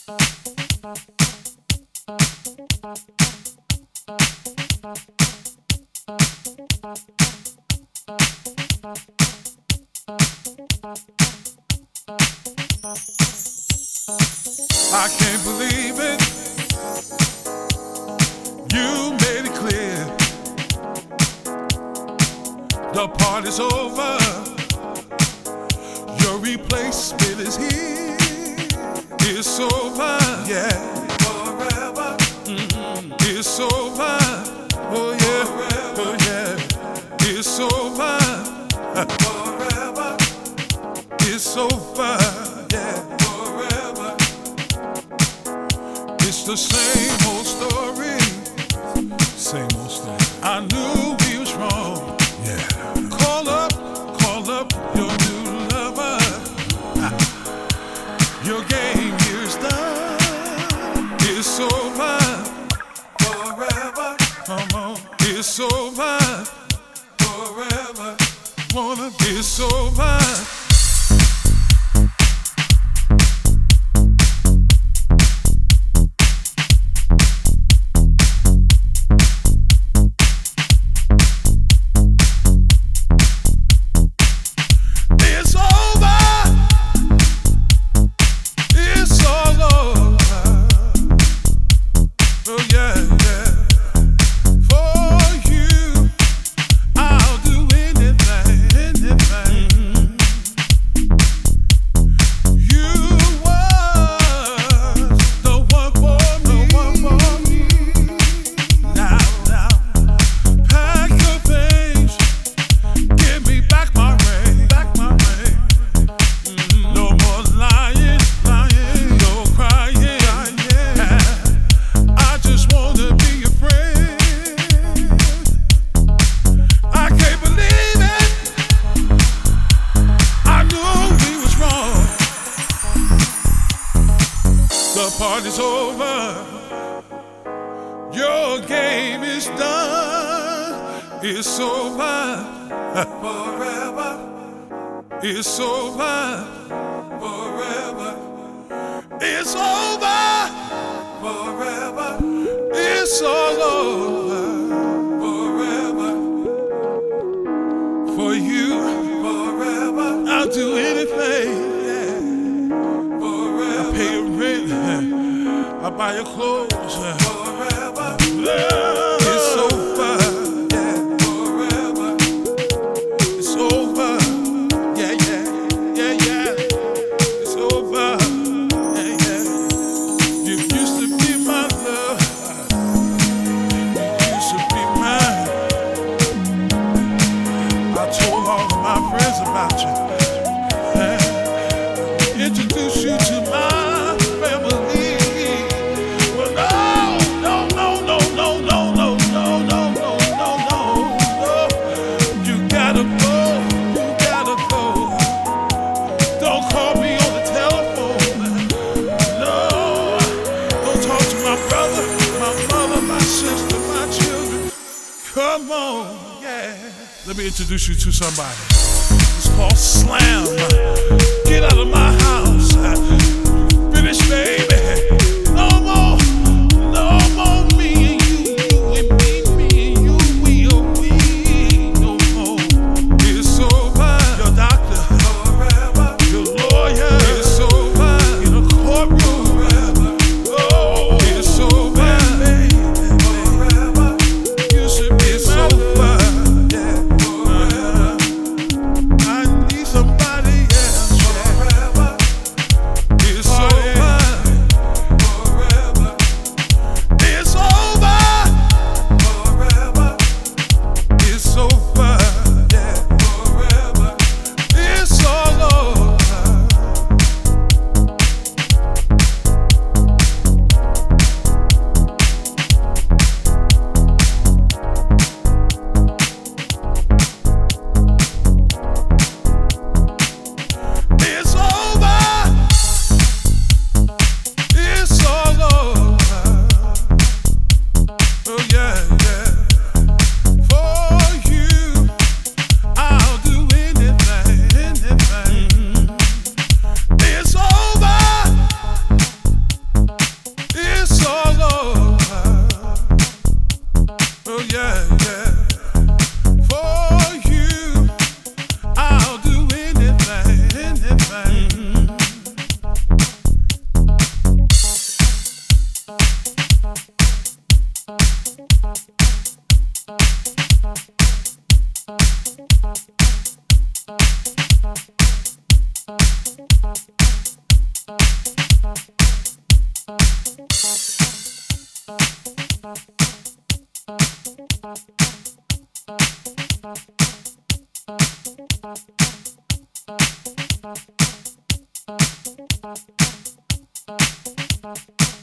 I can't believe it. You made it clear. The party's over. Your replacement is here. It's over, yeah. Forever. It's over. Oh yeah. Forever. Oh yeah. It's over. Forever. It's over. Yeah. Forever. It's the same old story. Same old story. I knew we was wrong. Yeah. Call up your new lover. Your game here's done. It's over. Forever. Come on. It's over. Forever. Wanna be it's over. The party's over. Your game is done. It's over. Forever. It's over. Forever. It's over. Forever. It's all over. Forever. For you. Forever. I'll do anything. Pay your rent, I buy your clothes. Forever, it's over. Yeah, forever, it's over. Yeah, yeah, yeah, yeah. It's over. Yeah, yeah. You used to be my love. You used to be mine. I told all of my friends about you. Introduce you to my come on, yeah. Let me introduce you to somebody. It's called Slam. Get out of my house. Finish, baby. No more me and you and me and you, we'll be no more. It's over. Your doctor, forever. Your lawyer, it's over. In a courtroom, forever. Oh, it's over. Thank you.